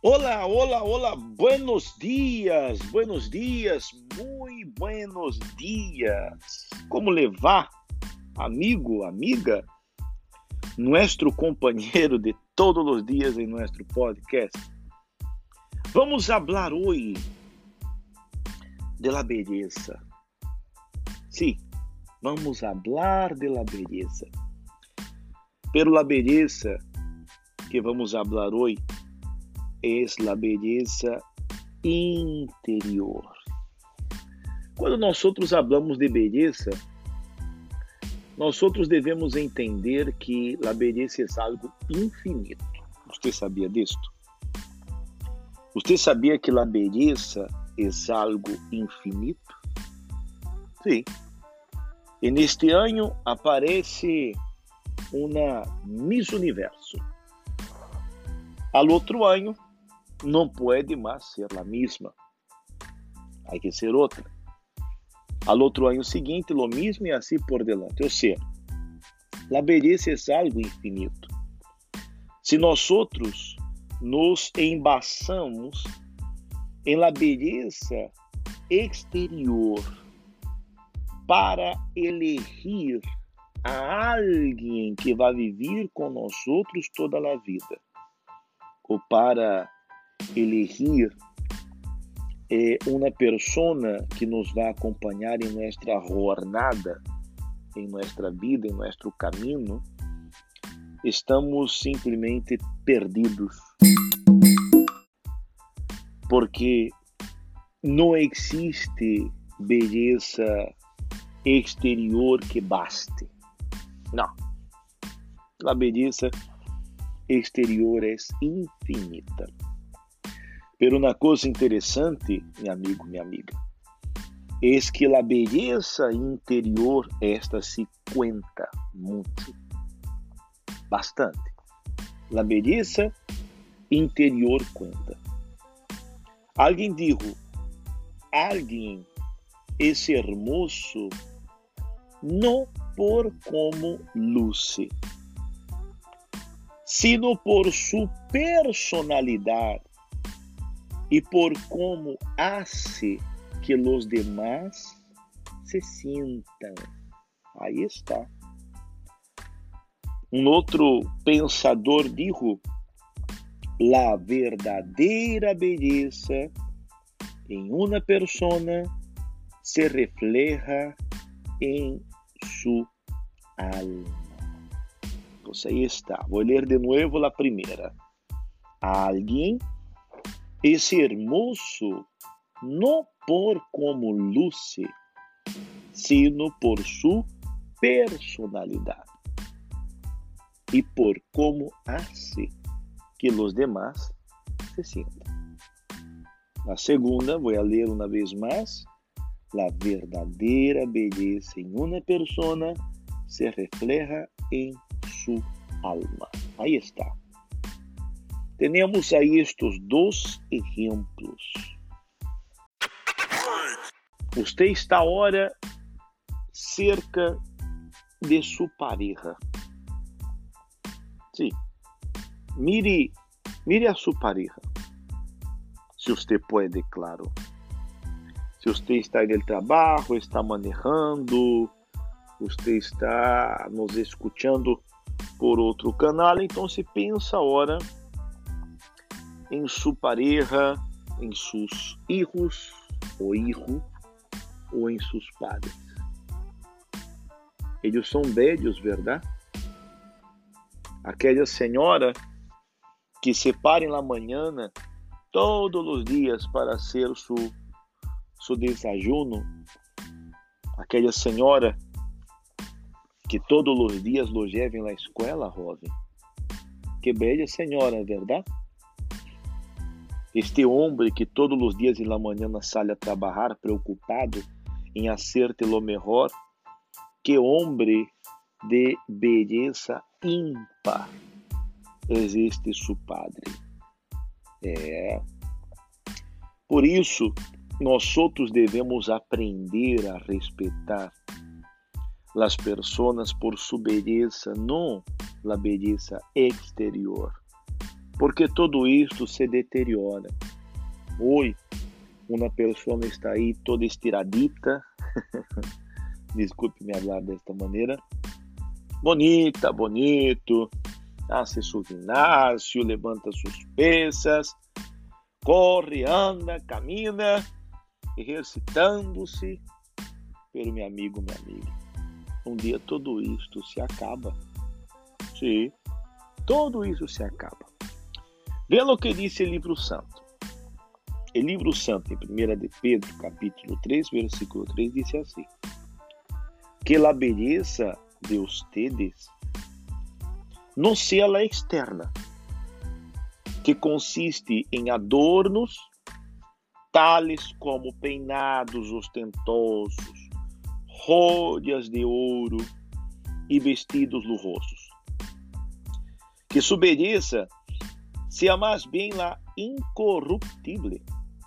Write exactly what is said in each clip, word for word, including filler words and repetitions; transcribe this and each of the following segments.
Hola, hola, hola, buenos días, buenos días, muy buenos días. ¿Cómo le va, amigo, amiga? Nuestro companheiro de todos os dias em nosso podcast. Vamos falar hoje de la belleza. Sí, vamos falar de la belleza. Pero la belleza que vamos falar hoje es la belleza interior. Quando nós outros hablamos de beleza, nós outros devemos entender que a beleza é algo infinito. Você sabia disto? Você sabia que a beleza é algo infinito? Sim. E neste ano aparece uma Miss Universo. Al outro ano, não pode mais ser a mesma. Há que ser outra. Al outro ano seguinte, lo mesmo e assim por delante. Ou seja, a beleza é algo infinito. Se nós outros nos embasamos em la beleza exterior para elegir a alguém que vai viver com nós outros toda a vida, ou para elegir eh, uma persona que nos vai acompanhar em nossa jornada, em nossa vida, em nosso caminho, estamos simplesmente perdidos. Porque não existe beleza exterior que baste. Não. A beleza exterior é infinita. Pero uma coisa interessante, meu amigo, minha amiga, é que a beleza interior esta se cuenta muito, bastante. A beleza interior cuenta. Alguém disse, alguém é hermoso não por como luce, sino por sua personalidade e por como hace que os demás se sintam. Aí está. Um outro pensador disse: la verdadeira beleza em uma persona se refleja em sua alma. Então, aí está. Vou ler de novo a primeira. Alguém é hermoso não por como luce, sino por sua personalidade e por como hace que os demás se sintam. A segunda, vou ler uma vez mais. La verdadeira beleza em uma persona se refleja em sua alma. Aí está. Temos aí estes dois exemplos. Você está agora cerca de sua pareja. Sim. Mire, mire a sua pareja. Se você pode, claro. Se você está no trabalho, está manejando, você está nos escutando por outro canal, então se pensa agora em sua pareja, em seus filhos, ou hijo, ou em seus padres. Eles são belos, verdade? Aquela senhora que se para em la manhã todos os dias para hacer su, su desayuno, aquela senhora que todos os dias lo lleva na escola, jovem. Que bela senhora, verdade? Este homem que todos os dias na manhã sai a trabalhar preocupado em hacerte lo mejor, que homem de beleza ímpar existe su padre. É. Por isso, nós outros devemos aprender a respeitar as pessoas por sua beleza, não a beleza exterior, porque todo isto se deteriora. Hoje, uma pessoa está aí toda estiradita, desculpe me falar desta maneira, bonita, bonito, hace su ginásio, levanta suas pesas, corre, anda, camina, exercitando-se. Pero, meu amigo, minha amiga, um dia tudo isto se acaba. Sim, tudo isso se acaba. Veja o que disse o livro santo. O livro santo, em primeira de Pedro, capítulo três, versículo três, disse assim: que a beleza de ustedes não seja a externa, que consiste em adornos tales como peinados ostentosos, joias de ouro e vestidos lujosos. Que sua beleza seja mais bem la incorruptível,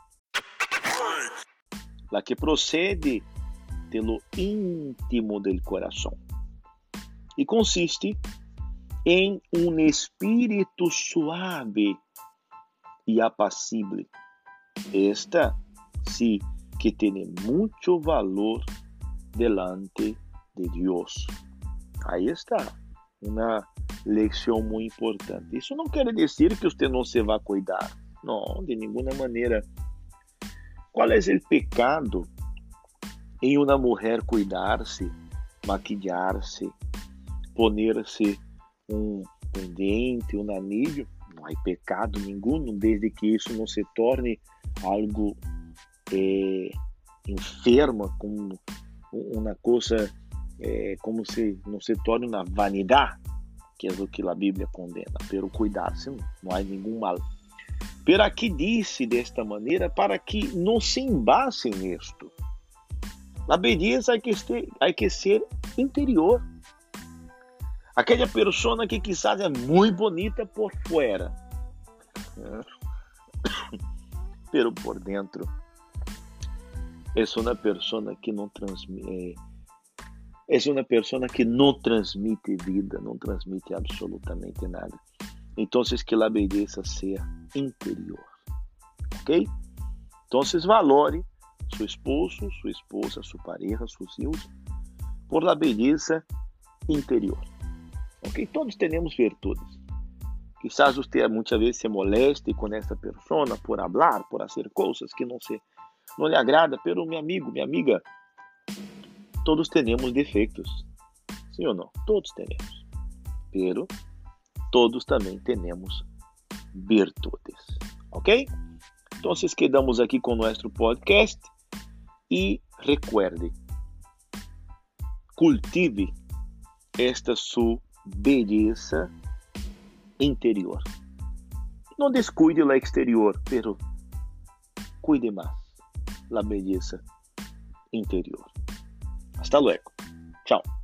la que procede de lo íntimo del coração e consiste em um espírito suave e apacible. Esta sí que tem muito valor delante de Deus. Aí está uma lição muito importante. Isso não quer dizer que você não se vai cuidar. Não, de nenhuma maneira. Qual é o pecado em uma mulher cuidar-se, maquilhar-se, poner-se um pendente, um anillo? Não há pecado nenhum, desde que isso não se torne algo eh, enferma, como uma coisa, eh, como se não se torne uma vanidade, que é o que a Bíblia condena. Pero cuidar-se, não há nenhum mal. Pero aqui disse desta maneira para que não se embasem nisto. A beleza hay que, ser, hay que ser interior. Aquela pessoa que quizás é muito bonita por fora, pero por dentro é uma pessoa que não transmite, é uma pessoa que não transmite vida, não transmite absolutamente nada. Então, que a beleza seja interior, ok? Então, valore seu esposo, sua esposa, sua pareja, seus filhos, por la beleza interior. Ok? Todos temos virtudes. Quizás você muitas vezes se moleste com essa pessoa por falar, por fazer coisas que não se não lhe agrada, pero meu amigo, minha amiga, todos temos defeitos. Sim ou não? Todos temos. Pero todos também temos virtudes. Ok? Então, quedamos aqui com nosso podcast e recuerde, cultive esta sua beleza interior. Não descuide o exterior, pero cuide mais a beleza interior. Hasta luego. Tchau.